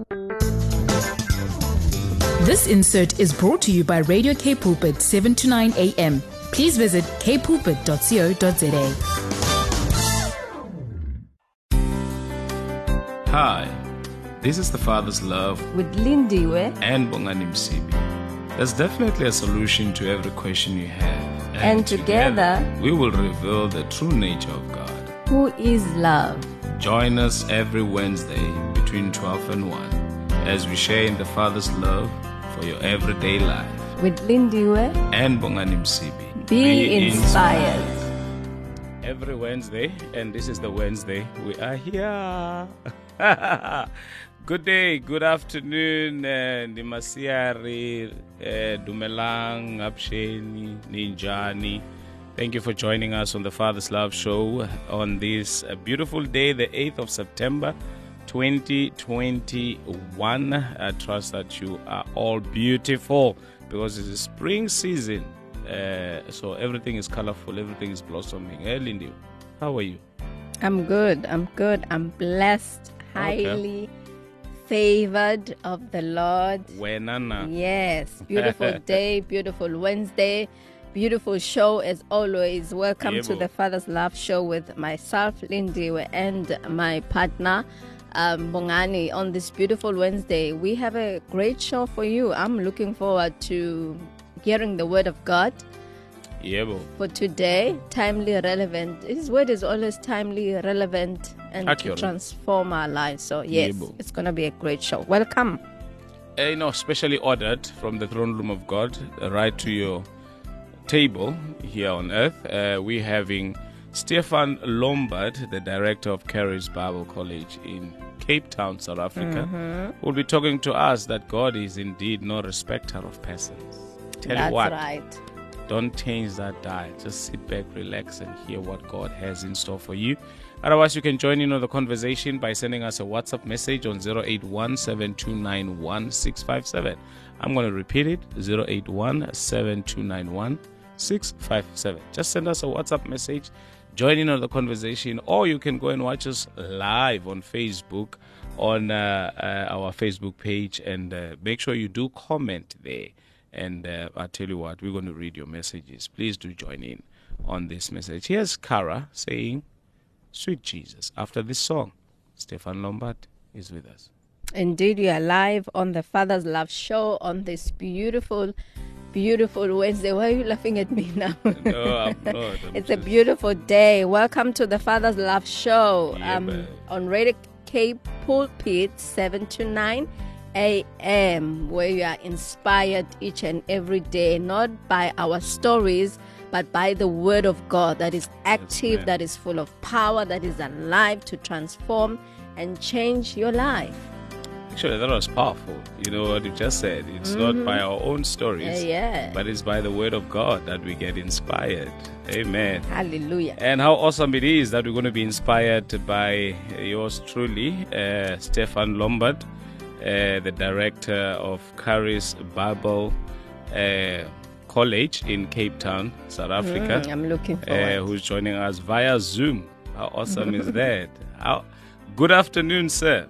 This insert is brought to you by Radio K Pulpit 7 to 9 a.m. Please visit kpulpit.co.za. Hi, this is The Father's Love with Lindiwe and Bongani Msibi. There's definitely a solution to every question you have. And together we will reveal the true nature of God, who is love. Join us every Wednesday between 12 and 1 as we share in the Father's love for your everyday life. With Lindiwe and Bongani Msibi. Be inspired. Every Wednesday, and this is the Wednesday, we are here. Good day, good afternoon, Nimasiari, Dumelang, Absheni, Ninjani. Thank you for joining us on the Father's Love Show on this beautiful day, the 8th of September, 2021. I trust that you are all beautiful because it's a spring season. So everything is colorful, everything is blossoming. Hey, Lindy, how are you? I'm good. I'm blessed, highly favored of the Lord. Wenana. Yes, beautiful day, beautiful Wednesday, beautiful show as always. Welcome to the Father's Love Show with myself, Lindy, and my partner, Bongani. On this beautiful Wednesday, we have a great show for you. I'm looking forward to hearing the word of God. For today, timely, relevant. His word is always timely, relevant, and accurate, to transform our lives. So yes, it's going to be a great show. Welcome. Specially ordered from the throne room of God right to your table here on earth. We're having Stefan Lombard, the director of Charis Bible College in Cape Town, South Africa, will be talking to us that God is indeed no respecter of persons. Tell you what, right. Don't change that dial. Just sit back, relax, and hear what God has in store for you. Otherwise, you can join in on the conversation by sending us a WhatsApp message on 081-7291-657. I'm going to repeat it, 081-7291-657. Just send us a WhatsApp message, join in on the conversation, or you can go and watch us live on Facebook, on our Facebook page, and make sure you do comment there. And I'll tell you what, we're going to read your messages. Please do join in on this message. Here's Cara saying, Sweet Jesus. After this song, Stefan Lombard is with us. Indeed, we are live on the Father's Love Show on this beautiful, beautiful Wednesday. Why are you laughing at me now? No, I'm not. It's a beautiful day. Welcome to the Father's Love Show on Radio K Pulpit 7 to 9 a.m., where you are inspired each and every day, not by our stories, but by the word of God that is active, that is full of power, that is alive to transform and change your life. Actually, that was powerful. You know what you just said. It's not by our own stories, but it's by the word of God that we get inspired. Amen. Hallelujah. And how awesome it is that we're going to be inspired by yours truly, Stefan Lombard, the director of Charis Bible College in Cape Town, South Africa. I'm looking forward. Who's joining us via Zoom. How awesome is that? Good afternoon, sir.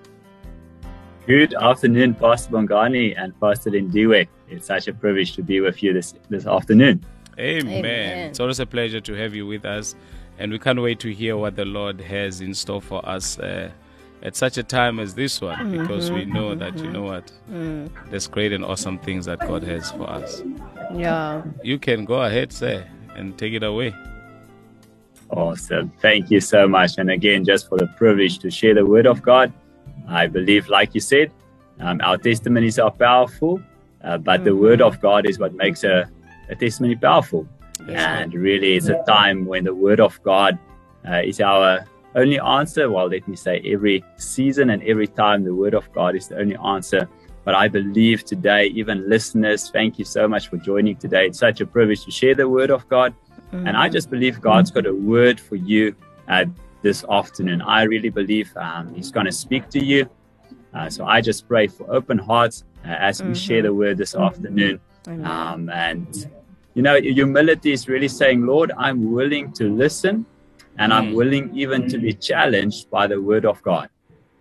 Good afternoon, Pastor Bongani and Pastor Lindiwe. It's such a privilege to be with you this afternoon. Amen. It's always a pleasure to have you with us, and we can't wait to hear what the Lord has in store for us at such a time as this one, because we know that, you know what, there's great and awesome things that God has for us. Yeah. You can go ahead, sir, and take it away. Awesome. Thank you so much. And again, just for the privilege to share the word of God. I believe, like you said, our testimonies are powerful, but the word of God is what makes a testimony powerful. And really, it's a time when the word of God is our only answer. Well, let me say, every season and every time, the word of God is the only answer. But I believe today, even listeners, thank you so much for joining today. It's such a privilege to share the word of God. And I just believe God's got a word for you this afternoon. I really believe He's going to speak to you. So I just pray for open hearts as we share the word this afternoon. And, you know, humility is really saying, Lord, I'm willing to listen, and I'm willing even to be challenged by the word of God.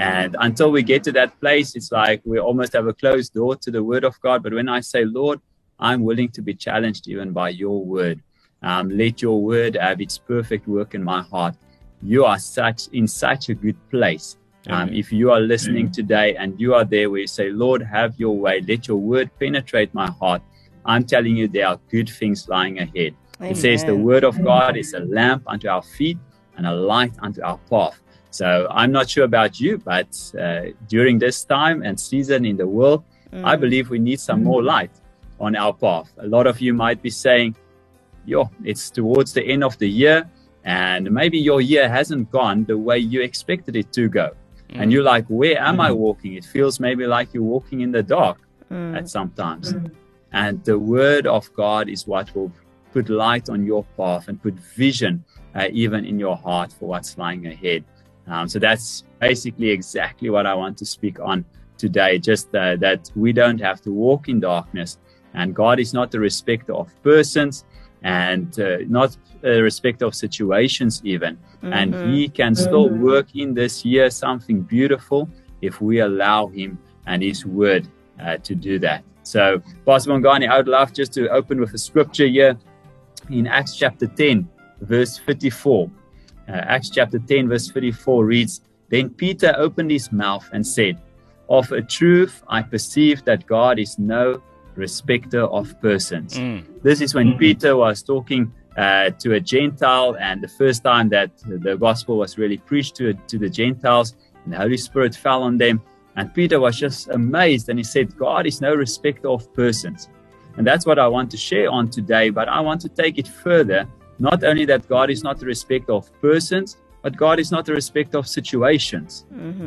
And until we get to that place, it's like we almost have a closed door to the word of God. But when I say, Lord, I'm willing to be challenged even by your word. Let your word have its perfect work in my heart. You are in such a good place. If you are listening today and you are there where you say, Lord, have your way. Let your word penetrate my heart. I'm telling you, there are good things lying ahead. Amen. It says the word of God is a lamp unto our feet and a light unto our path. So I'm not sure about you, but during this time and season in the world, I believe we need some more light on our path. A lot of you might be saying, it's towards the end of the year, and maybe your year hasn't gone the way you expected it to go. And you're like, where am I walking? It feels maybe like you're walking in the dark at some times. And the word of God is what will put light on your path and put vision even in your heart for what's lying ahead. So that's basically exactly what I want to speak on today, just that we don't have to walk in darkness. And God is not a respecter of persons and not a respecter of situations even. And he can still work in this year something beautiful if we allow him and his word to do that. So, Pastor Mongani, I would love just to open with a scripture here in Acts chapter 10, verse 54. Acts chapter 10, verse 54 reads, Then Peter opened his mouth and said, Of a truth, I perceive that God is no respecter of persons. This is when Peter was talking to a Gentile, and the first time that the gospel was really preached to the Gentiles, and the Holy Spirit fell on them. And Peter was just amazed, and he said, God is no respecter of persons. And that's what I want to share on today, but I want to take it further. Not only that God is not the respecter of persons, but God is not the respecter of situations.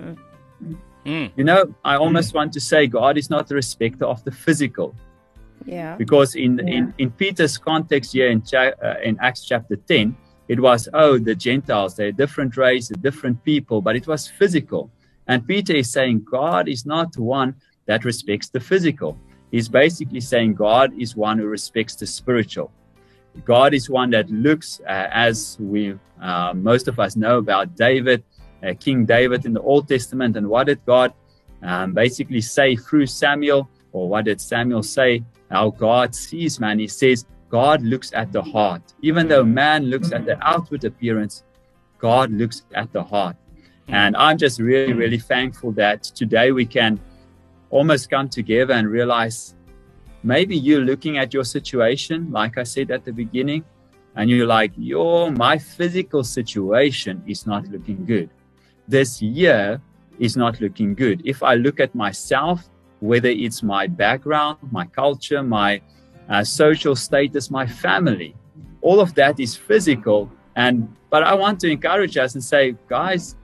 You know, I almost want to say God is not the respecter of the physical. Yeah. Because in Peter's context here in Acts chapter 10, it was, the Gentiles, they're a different race, a different people, but it was physical. And Peter is saying God is not one that respects the physical. He's basically saying God is one who respects the spiritual. God is one that looks, as we most of us know about David, King David in the Old Testament. And what did God basically say through Samuel? Or what did Samuel say? How God sees man. He says God looks at the heart. Even though man looks at the outward appearance, God looks at the heart. And I'm just really, really thankful that today we can almost come together and realize maybe you're looking at your situation, like I said at the beginning, and you're like, my physical situation is not looking good. This year is not looking good. If I look at myself, whether it's my background, my culture, my social status, my family, all of that is physical. But I want to encourage us and say, guys,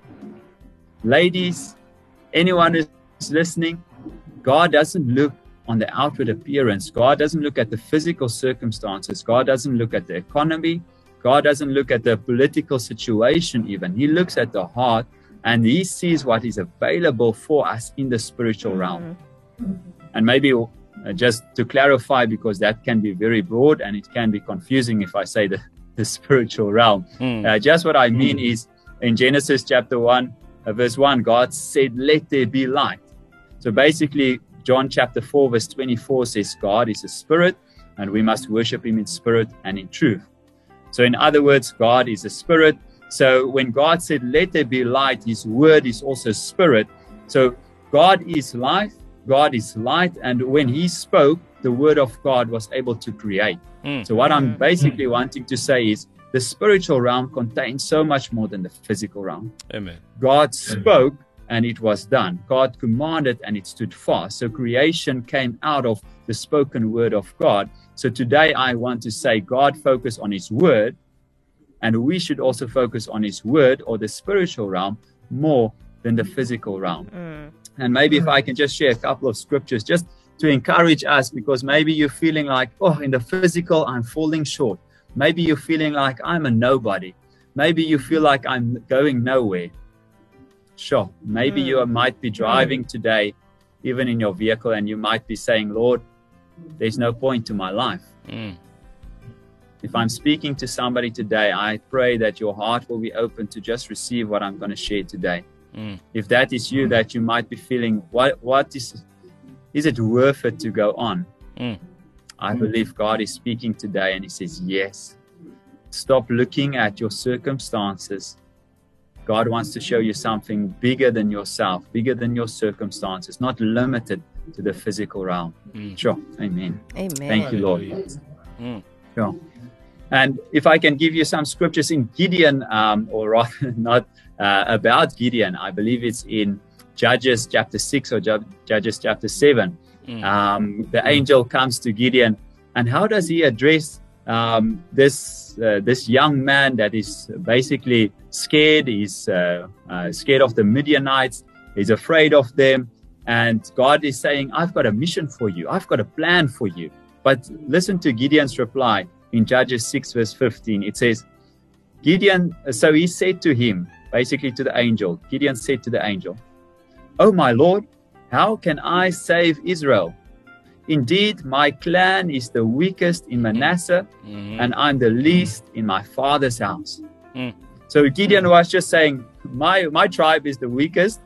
ladies, anyone who's listening, God doesn't look on the outward appearance. God doesn't look at the physical circumstances. God doesn't look at the economy. God doesn't look at the political situation even. He looks at the heart, and he sees what is available for us in the spiritual realm. And maybe just to clarify, because that can be very broad and it can be confusing if I say the spiritual realm. Just what I mean is in Genesis chapter 1, verse 1, God said, let there be light. So basically, John chapter 4, verse 24 says, God is a spirit, and we must worship him in spirit and in truth. So in other words, God is a spirit. So when God said, let there be light, his word is also spirit. So God is life, God is light. And when he spoke, the word of God was able to create. So what I'm basically wanting to say is the spiritual realm contains so much more than the physical realm. Amen. God spoke and it was done. God commanded and it stood fast. So creation came out of the spoken word of God. So today I want to say God focused on his word, and we should also focus on his word or the spiritual realm more than the physical realm. And maybe if I can just share a couple of scriptures just to encourage us, because maybe you're feeling like, in the physical, I'm falling short. Maybe you're feeling like I'm a nobody. Maybe you feel like I'm going nowhere. Sure. Maybe you might be driving today, even in your vehicle, and you might be saying, Lord, there's no point to my life. If I'm speaking to somebody today, I pray that your heart will be open to just receive what I'm going to share today. If that is you, that you might be feeling, what is it worth it to go on? I believe God is speaking today, and He says, yes. Stop looking at your circumstances. God wants to show you something bigger than yourself, bigger than your circumstances, not limited to the physical realm. Sure. Amen. Amen. Thank you, Lord. Sure. And if I can give you some scriptures in Gideon, or rather not about Gideon, I believe it's in Judges chapter 6 or Judges chapter 7. The angel comes to Gideon, and how does he address this young man that is basically scared? He's scared of the Midianites. He's afraid of them. And God is saying, I've got a mission for you. I've got a plan for you. But listen to Gideon's reply in Judges 6 verse 15. It says, Gideon, so he said to him, basically to the angel, Gideon said to the angel, "Oh my Lord, how can I save Israel? Indeed, my clan is the weakest in Manasseh, and I'm the least in my father's house." So Gideon was just saying, my tribe is the weakest.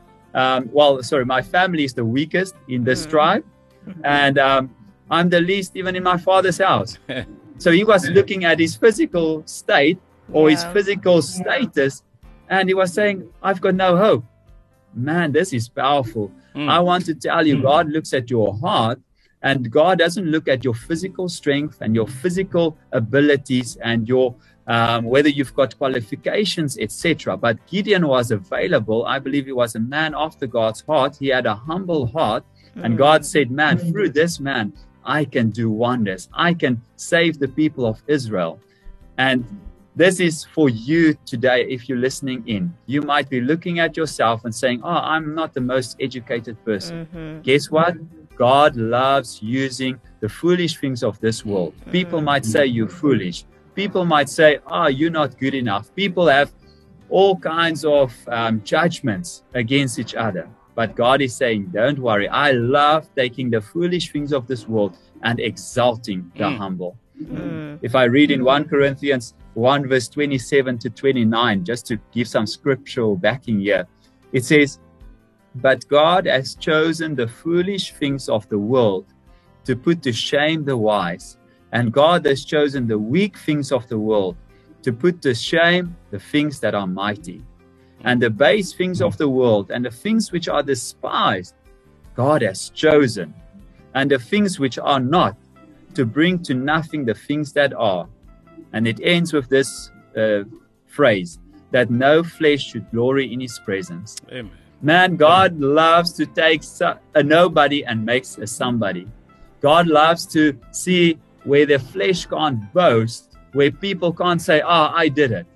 My family is the weakest in this tribe, and I'm the least even in my father's house. So he was looking at his physical state or his physical status, and he was saying, I've got no hope. Man, this is powerful. I want to tell you, God looks at your heart, and God doesn't look at your physical strength and your physical abilities and your whether you've got qualifications, etc. But Gideon was available. I believe he was a man after God's heart. He had a humble heart, and God said, man, through this man, I can do wonders. I can save the people of Israel. And this is for you today. If you're listening in, you might be looking at yourself and saying, I'm not the most educated person. Guess what? God loves using the foolish things of this world. People might say you're foolish. People might say, you're not good enough. People have all kinds of judgments against each other. But God is saying, don't worry. I love taking the foolish things of this world and exalting the humble. If I read in 1 Corinthians 1 verse 27 to 29, just to give some scriptural backing here, it says, "But God has chosen the foolish things of the world to put to shame the wise. And God has chosen the weak things of the world to put to shame the things that are mighty. And the base things of the world and the things which are despised, God has chosen. And the things which are not, to bring to nothing the things that are." And it ends with this phrase, that no flesh should glory in His presence. Amen. Man, God loves to take a nobody and makes a somebody. God loves to see where the flesh can't boast, where people can't say, I did it.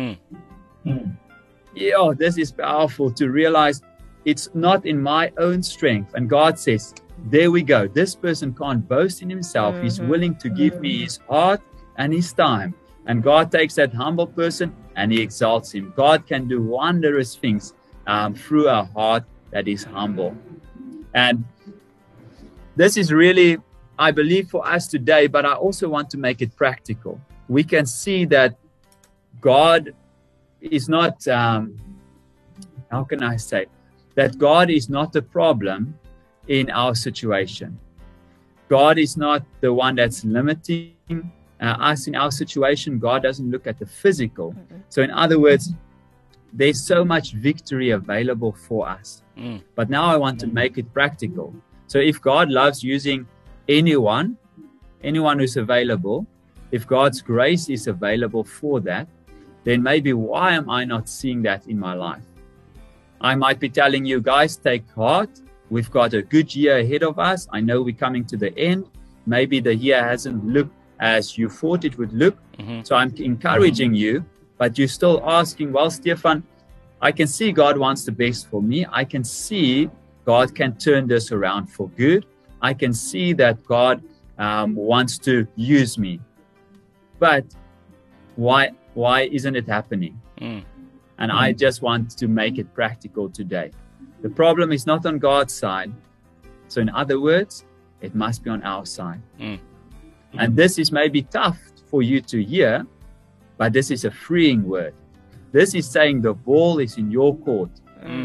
Yeah, this is powerful to realize it's not in my own strength. And God says, there we go. This person can't boast in himself. He's willing to give me his heart and his time. And God takes that humble person and He exalts him. God can do wondrous things through a heart that is humble. And this is really, I believe, for us today, but I also want to make it practical. We can see that God is not, how can I say, that God is not the problem in our situation. God is not the one that's limiting us in our situation. God doesn't look at the physical. So in other words, there's so much victory available for us. But now I want to make it practical. So if God loves using anyone who's available, if God's grace is available for that, then maybe why am I not seeing that in my life? I might be telling you guys, take heart. We've got a good year ahead of us. I know we're coming to the end. Maybe the year hasn't looked as you thought it would look. So I'm encouraging you, but you're still asking, well, Stefan, I can see God wants the best for me. I can see God can turn this around for good. I can see that God wants to use me. But why isn't it happening? And I just want to make it practical today. The problem is not on God's side. So in other words, it must be on our side. And this is maybe tough for you to hear, but this is a freeing word. This is saying the ball is in your court.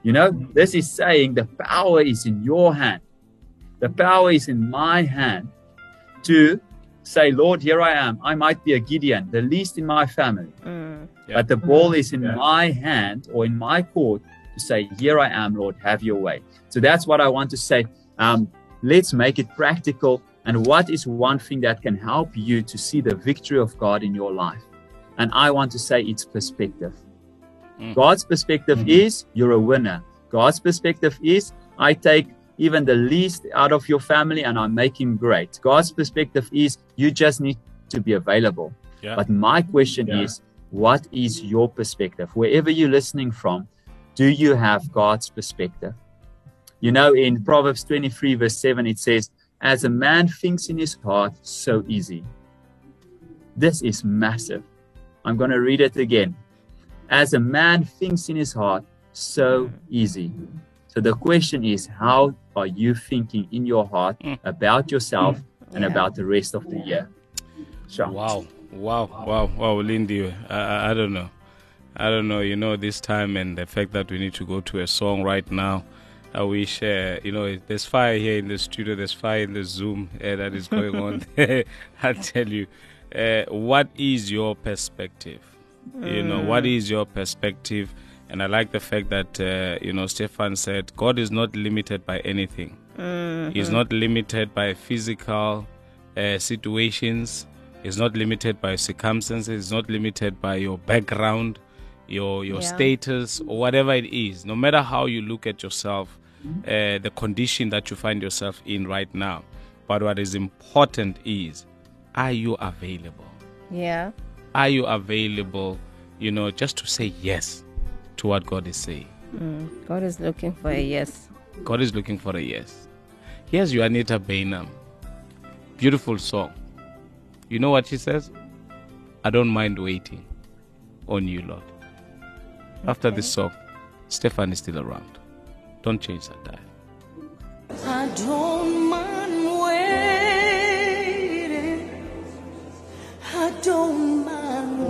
You know, this is saying the power is in your hand. The power is in my hand to say, Lord, here I am. I might be a Gideon, the least in my family. But the ball is in my hand or in my court to say, here I am, Lord, have your way. So that's what I want to say. Let's make it practical. And what is one thing that can help you to see the victory of God in your life? And I want to say it's perspective. God's perspective is you're a winner. God's perspective is I take even the least out of your family and I make him great. God's perspective is you just need to be available. But my question is, what is your perspective? Wherever you're listening from, do you have God's perspective? You know, in Proverbs 23 verse 7, it says, as a man thinks in his heart, so is he. This is massive. I'm going to read it again. As a man thinks in his heart, so is he. So the question is, how are you thinking in your heart about yourself and about the rest of the year? Sure. Wow, Lindy. I don't know. You know, this time and the fact that we need to go to a song right now. I wish, there's fire here in the studio. There's fire in the Zoom that is going on. I tell you, what is your perspective? You know, what is your perspective? And I like the fact that, Stefan said, God is not limited by anything. He's not limited by physical situations. He's not limited by circumstances. He's not limited by your background, your status, or whatever it is. No matter how you look at yourself, the condition that you find yourself in right now. But what is important is, are you available? Yeah. Are you available, just to say yes to what God is saying? God is looking for a yes. God is looking for a yes. Here's Juanita Bainham. Beautiful song. You know what she says? I don't mind waiting on you, Lord. After this song, Stefan is still around. Don't change that dial. I don't mind waiting. I don't mind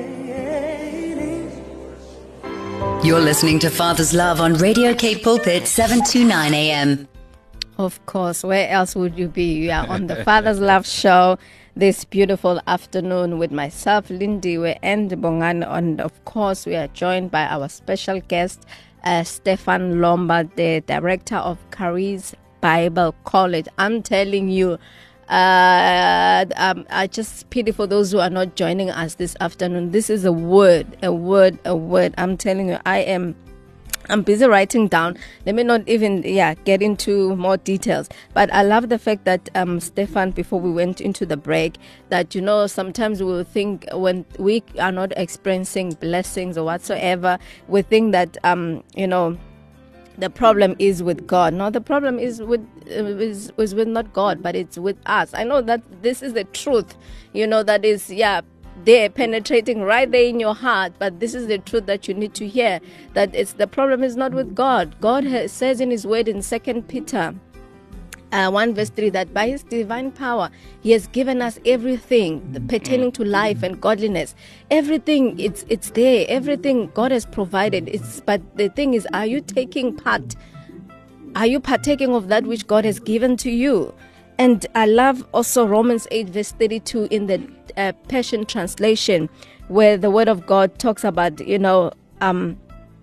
waiting. You're listening to Father's Love on Radio K Pulpit 729 AM. Of course, where else would you be? You are on the Father's Love show this beautiful afternoon with myself, Lindiwe, and Bongani. And of course, we are joined by our special guest, Stefan Lombard, the director of Charis Bible College. I'm telling you, I just pity for those who are not joining us this afternoon. This is a word. I'm telling you, I'm busy writing down. Let me not even get into more details. But I love the fact that Stefan, before we went into the break, that sometimes we will think when we are not experiencing blessings or whatsoever, we think that the problem is with God. No, the problem is with not God, but it's with us. I know that this is the truth. That is they're penetrating right there in your heart, but this is the truth that you need to hear, that the problem is not with God. God says in his word in 2 Peter 1 verse 3 that by his divine power he has given us everything pertaining to life and godliness. Everything, it's there. Everything God has provided. But the thing is, are you taking part? Are you partaking of that which God has given to you? And I love also Romans 8 verse 32 in the Passion Translation, where the Word of God talks about, I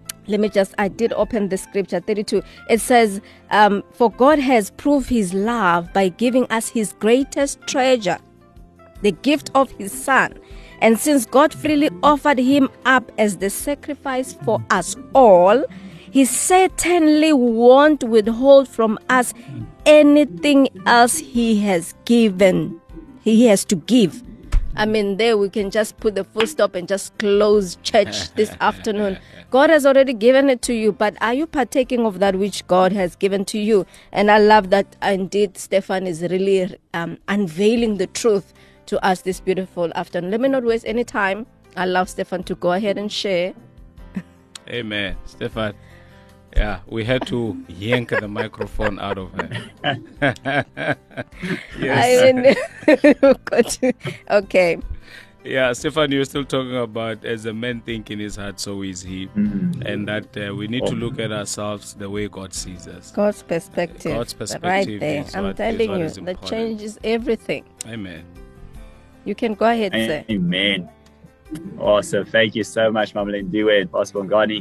did open the scripture 32. It says, for God has proved his love by giving us his greatest treasure, the gift of his Son. And since God freely offered him up as the sacrifice for us all, he certainly won't withhold from us anything else he has given. He has to give. I mean, there we can just put the full stop and just close church this afternoon. God has already given it to you, but are you partaking of that which God has given to you? And I love that indeed Stefan is really unveiling the truth to us this beautiful afternoon. Let me not waste any time. I allow Stefan to go ahead and share. Amen. Stefan. Yeah, we had to yank the microphone out of her. Yes. Okay. Yeah, Stefan, you're still talking about as a man think in his heart, so is he. And that we need to look at ourselves the way God sees us. God's perspective. God's perspective Right there. is I'm what- telling is what you, is that important. changes everything. Amen. You can go ahead, sir. Amen. Awesome. Thank you so much, Mama Lindiwe and Pastor Bongani.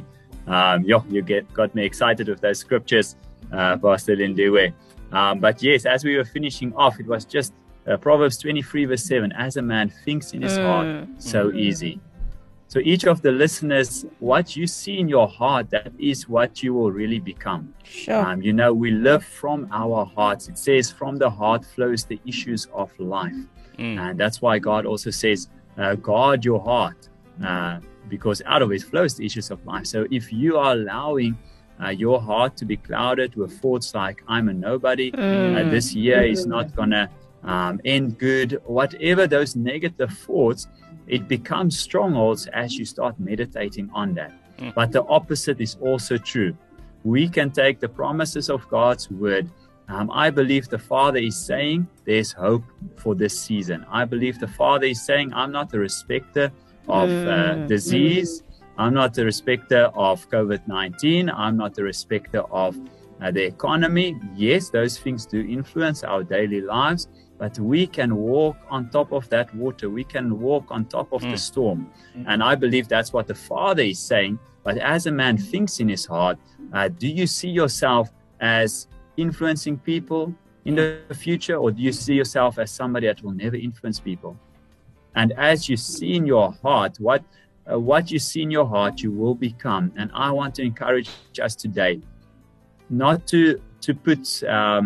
Got me excited with those scriptures, Pastor Lindiwe. But yes, as we were finishing off, it was just Proverbs 23 verse 7. As a man thinks in his heart, so easy. So each of the listeners, what you see in your heart, that is what you will really become. Sure. We live from our hearts. It says from the heart flows the issues of life. And that's why God also says, guard your heart, because out of it flows the issues of life. So if you are allowing your heart to be clouded with thoughts like, I'm a nobody, this year is not going to end good, whatever those negative thoughts, it becomes strongholds as you start meditating on that. But the opposite is also true. We can take the promises of God's word. I believe the Father is saying there's hope for this season. I believe the Father is saying, I'm not a respecter of disease. I'm not a respecter of COVID-19. I'm not a respecter of the economy. Yes, those things do influence our daily lives, but we can walk on top of that water. We can walk on top of the storm. And I believe that's what the Father is saying. But as a man thinks in his heart, do you see yourself as influencing people in the future, or do you see yourself as somebody that will never influence people? And as you see in your heart, what you see in your heart, you will become. And I want to encourage us today not to put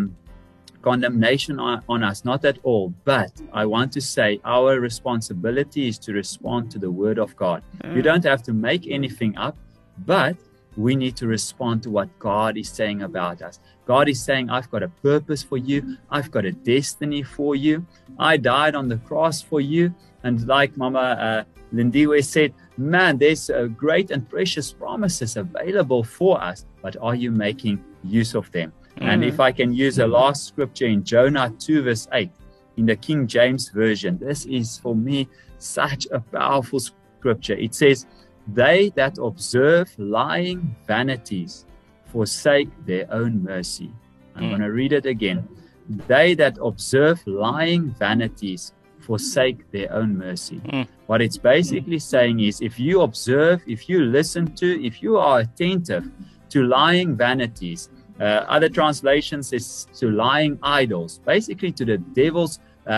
condemnation on us, not at all. But I want to say our responsibility is to respond to the word of God. You don't have to make anything up, but we need to respond to what God is saying about us. God is saying, I've got a purpose for you. I've got a destiny for you. I died on the cross for you. And like Mama Lindiwe said, man, there's great and precious promises available for us, but are you making use of them? And if I can use a last scripture in Jonah 2 verse 8 in the King James Version, this is for me such a powerful scripture. It says, they that observe lying vanities forsake their own mercy. I'm going to read it again. They that observe lying vanities forsake their own mercy. What it's basically saying is, if you observe, if you listen to, if you are attentive to lying vanities, other translations is to lying idols, basically to the devil's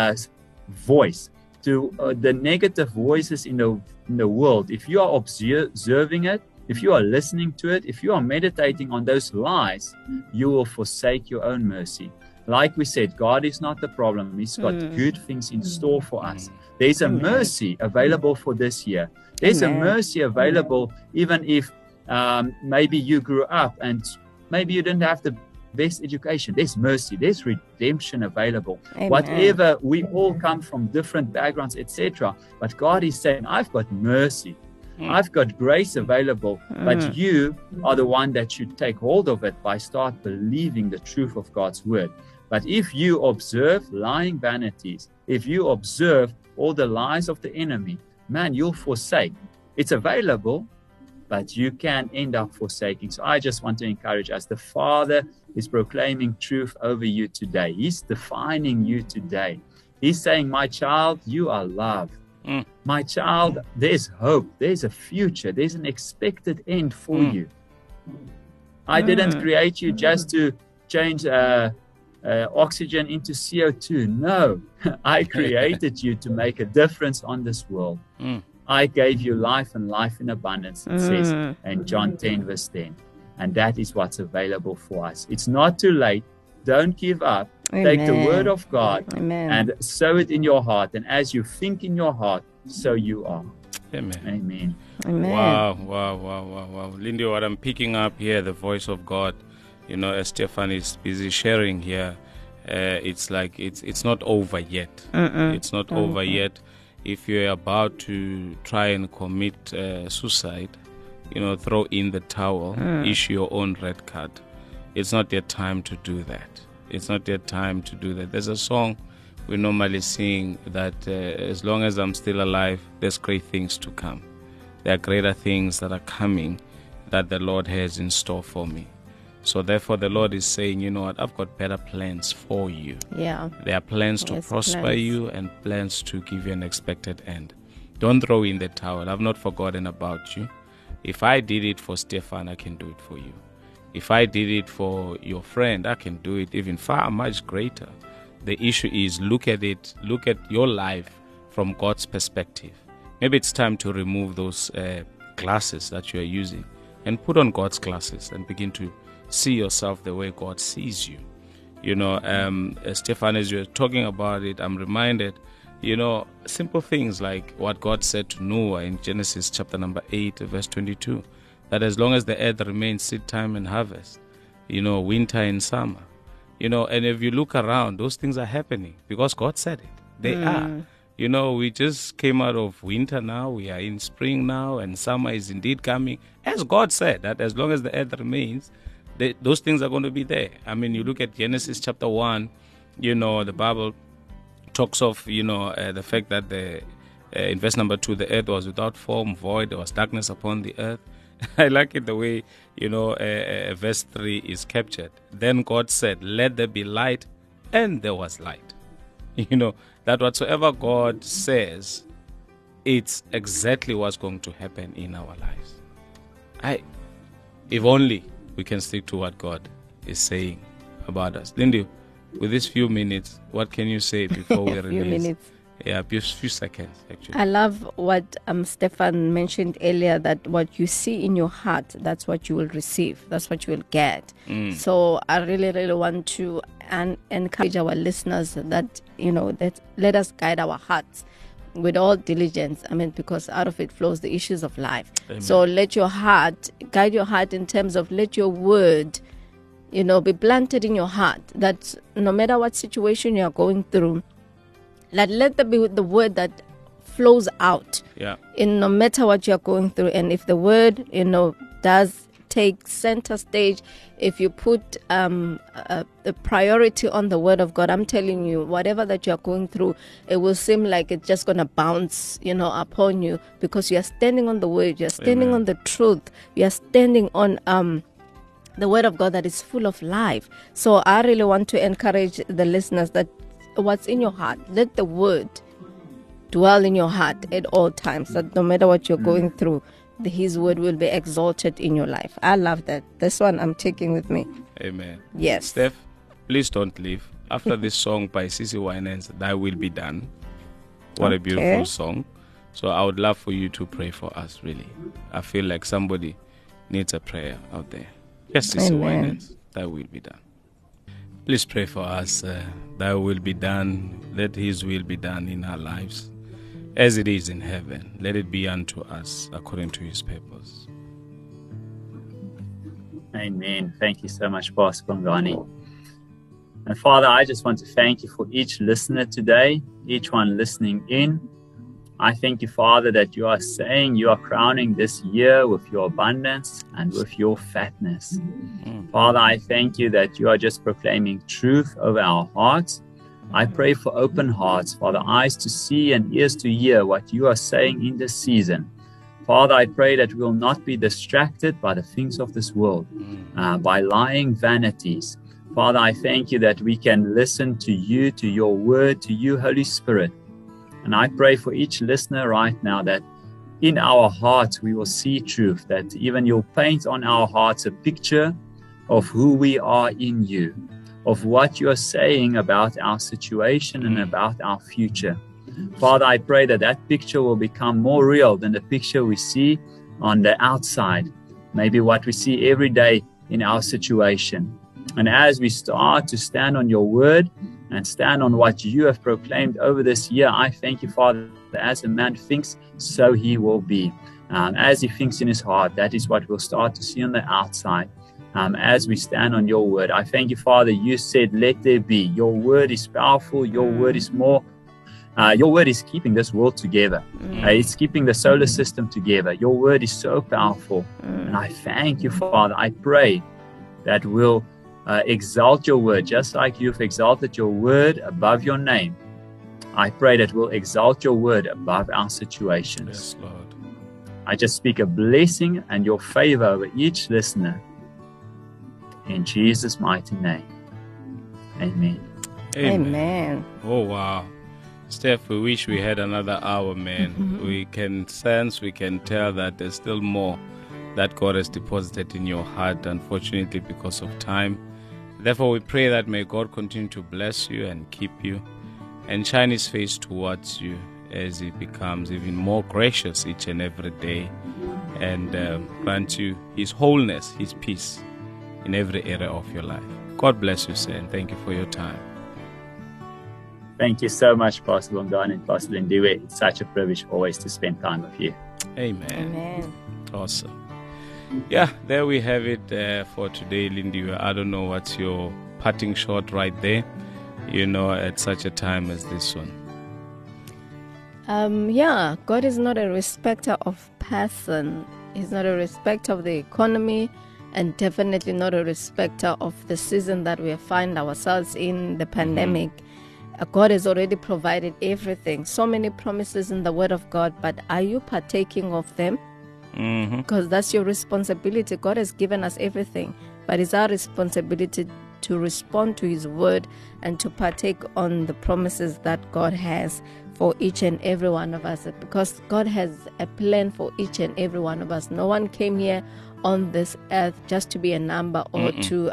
voice, to the negative voices in the world. If you are observing it, if you are listening to it, if you are meditating on those lies, you will forsake your own mercy. Like we said, God is not the problem. He's got good things in store for us. There's a mercy available for this year. There's a mercy available even if maybe you grew up and maybe you didn't have the best education. There's mercy. There's redemption available. Whatever, we all come from different backgrounds, etc. But God is saying, I've got mercy. I've got grace available, but you are the one that should take hold of it by start believing the truth of God's word. But if you observe lying vanities, if you observe all the lies of the enemy, man, you'll forsake. It's available, but you can end up forsaking. So I just want to encourage us. The Father is proclaiming truth over you today. He's defining you today. He's saying, my child, you are loved. My child, there's hope. There's a future. There's an expected end for you. I didn't create you just to change oxygen into CO2. No, I created you to make a difference on this world. I gave you life and life in abundance, it says in John 10 verse 10. And that is what's available for us. It's not too late. Don't give up. Amen. Take the word of God and sow it in your heart. And as you think in your heart, so you are. Amen. Amen. Wow. Lindy, what I'm picking up here, the voice of God, as Stefan is busy sharing here, it's like it's not over yet. It's not over yet. If you're about to try and commit suicide, throw in the towel, issue your own red card. It's not yet time to do that. It's not yet time to do that. There's a song we normally sing that as long as I'm still alive, there's great things to come. There are greater things that are coming that the Lord has in store for me. So therefore, the Lord is saying, you know what, I've got better plans for you. Yeah. There are plans to prosper plans. you and plans to give you an expected end. Don't throw in the towel. I've not forgotten about you. If I did it for Stefan, I can do it for you. If I did it for your friend, I can do it even far much greater. The issue is look at your life from God's perspective. Maybe it's time to remove those glasses that you are using and put on God's glasses and begin to see yourself the way God sees you. You know, Stefan, as you're talking about it, I'm reminded, you know, simple things like what God said to Noah in Genesis chapter number 8, verse 22, that as long as the earth remains seed time and harvest, you know, winter and summer, you know, and if you look around, those things are happening because God said it. They are. You know, we just came out of winter now, we are in spring now, and summer is indeed coming. As God said, that as long as the earth remains, those things are going to be there. I mean, you look at Genesis chapter 1, you know, the Bible talks of, you know, the fact that in verse number 2, the earth was without form, void, there was darkness upon the earth. I like it the way, you know, verse 3 is captured. Then God said, let there be light, and there was light. You know, that whatsoever God says, it's exactly what's going to happen in our lives. If only we can stick to what God is saying about us. Lindy, with these few minutes, what can you say before we release? Few minutes. Yeah, few seconds, actually. I love what Stefan mentioned earlier, that what you see in your heart, that's what you will receive. That's what you will get. So I really, really want to encourage our listeners that, you know, that let us guide our hearts with all diligence. I mean, because out of it flows the issues of life. Amen. So let your heart, guide your heart in terms of let your word, you know, be planted in your heart, that no matter what situation you are going through, let that be the word that flows out. Yeah. In no matter what you're going through. And if the word, you know, does take center stage, if you put the priority on the word of God, I'm telling you, whatever that you're going through, it will seem like it's just going to bounce, you know, upon you, because you're standing on the word, you're standing Amen. on the truth, you're standing on the word of God that is full of life. So I really want to encourage the listeners that what's in your heart, let the word dwell in your heart at all times, that no matter what you're going through, his word will be exalted in your life. I love that. This one I'm taking with me. Amen. Yes. Steph, please don't leave. After this song by CeCe Winans, Thy Will Be Done. What a beautiful song. So I would love for you to pray for us, really. I feel like somebody needs a prayer out there. Yes, CeCe Winans, Thy Will Be Done. Please pray for us. Thy will be done. Let His will be done in our lives. As it is in heaven, let it be unto us according to His purpose. Amen. Thank you so much, Pastor Bongani. And Father, I just want to thank you for each listener today, each one listening in. I thank you, Father, that you are saying you are crowning this year with your abundance and with your fatness. Father, I thank you that you are just proclaiming truth over our hearts. I pray for open hearts, Father, eyes to see and ears to hear what you are saying in this season. Father, I pray that we will not be distracted by the things of this world, by lying vanities. Father, I thank you that we can listen to you, to your word, to you, Holy Spirit. And I pray for each listener right now that in our hearts we will see truth, that even you'll paint on our hearts a picture of who we are in you, of what you're saying about our situation and about our future. Father, I pray that that picture will become more real than the picture we see on the outside, maybe what we see every day in our situation. And as we start to stand on your word and stand on what you have proclaimed over this year, I thank you, Father, that as a man thinks, so he will be. As he thinks in his heart, that is what we'll start to see on the outside. As we stand on your word, I thank you, Father, you said, let there be. Your word is powerful. Your word is more. Your word is keeping this world together. It's keeping the solar system together. Your word is so powerful. And I thank you, Father. I pray that we'll exalt your word, just like you've exalted your word above your name. I pray that we'll exalt your word above our situations. Yes, Lord. I just speak a blessing and your favor over each listener. In Jesus' mighty name. Amen. Amen. Oh, wow. Steph, we wish we had another hour, man. We can sense, we can tell that there's still more that God has deposited in your heart, unfortunately, because of time. Therefore, we pray that may God continue to bless you and keep you and shine his face towards you as he becomes even more gracious each and every day, and grant you his wholeness, his peace in every area of your life. God bless you, sir, and thank you for your time. Thank you so much, Pastor Longane and Pastor Lindiwe. It's such a privilege always to spend time with you. Amen. Amen. Awesome. Yeah, there we have it for today, Lindiwe. I don't know what's your parting shot right there, at such a time as this one. God is not a respecter of person. He's not a respecter of the economy, and definitely not a respecter of the season that we find ourselves in, the pandemic. God has already provided everything. So many promises in the Word of God, but are you partaking of them? Because that's your responsibility. God has given us everything, but it's our responsibility to respond to His Word and to partake on the promises that God has for each and every one of us, because God has a plan for each and every one of us. No one came here on this earth just to be a number or to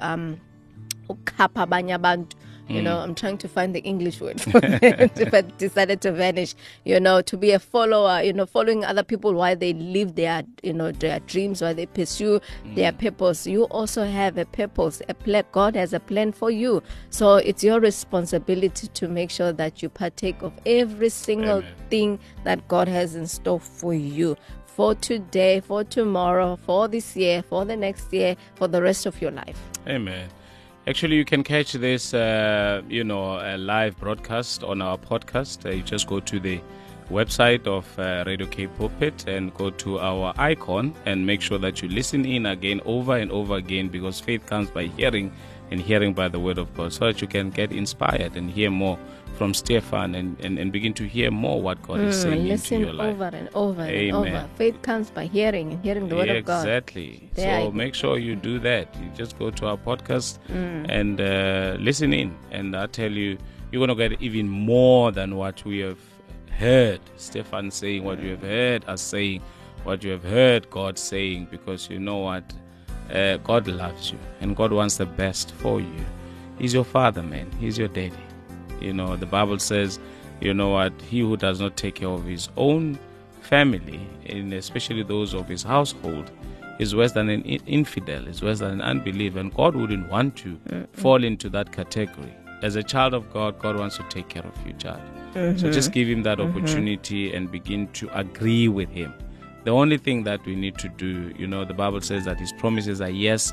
ukapa abanye abantu. I'm trying to find the English word for it, but decided to vanish, to be a follower, following other people while they live their dreams, while they pursue their purpose. You also have a purpose, a plan. God has a plan for you. So it's your responsibility to make sure that you partake of every single thing that God has in store for you, for today, for tomorrow, for this year, for the next year, for the rest of your life. Amen. Actually, you can catch this, a live broadcast on our podcast. You just go to the website of Radio K Pulpit and go to our icon and make sure that you listen in again, over and over again, because faith comes by hearing and hearing by the word of God, so that you can get inspired and hear more from Stefan and begin to hear more what God is saying into your life. Listen over and over Amen. and over. Faith comes by hearing and hearing the word of God. Exactly. So make sure you do that. You just go to our podcast and listen in. And I tell you, you're going to get even more than what we have heard Stefan saying, what you have heard us saying, what you have heard God saying, because you know what? God loves you and God wants the best for you. He's your father, man. He's your daddy. The Bible says, he who does not take care of his own family, and especially those of his household, is worse than an infidel, is worse than an unbeliever. And God wouldn't want to fall into that category. As a child of God, God wants to take care of you, child. So just give him that opportunity and begin to agree with him. The only thing that we need to do, the Bible says that his promises are yes,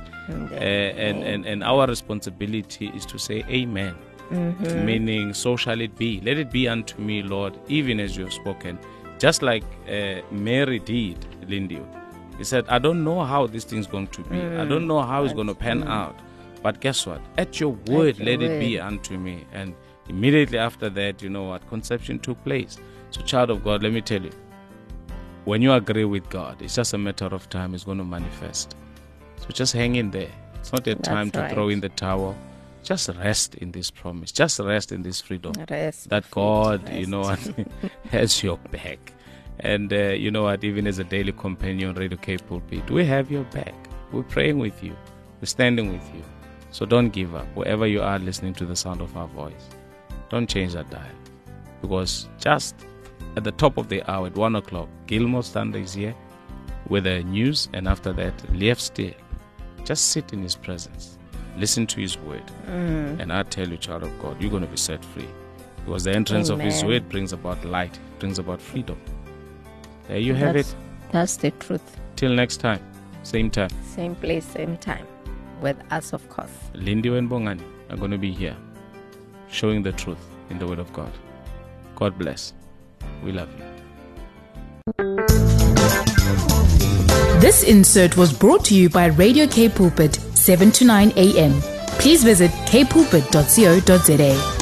and our responsibility is to say amen. Meaning, so shall it be. Let it be unto me, Lord, even as you have spoken. Just like Mary did, Lindy. He said, I don't know how this thing's going to be. I don't know how it's going to pan out. But guess what? At your word, let it be unto me. And immediately after that, conception took place. So, child of God, let me tell you, when you agree with God, it's just a matter of time. It's going to manifest. So just hang in there. It's not a time to throw in the towel. Just rest in this promise. Just rest in this freedom. That God, has your back. And even as a daily companion, Radio K Pulpit, we have your back. We're praying with you. We're standing with you. So don't give up. Wherever you are listening to the sound of our voice, don't change that dial. Because just at the top of the hour, at 1 o'clock, Gilmore Thunder is here with the news. And after that, Leif Steele. Just sit in his presence. Listen to his word. And I tell you, child of God, you're going to be set free. Because the entrance of his word brings about light, brings about freedom. There you have it. That's the truth. Till next time. Same time. Same place, same time. With us, of course. Lindy and Bongani are going to be here, showing the truth in the word of God. God bless. We love you. This insert was brought to you by Radio K Pulpit, 7 to 9 a.m. Please visit kpulpit.co.za.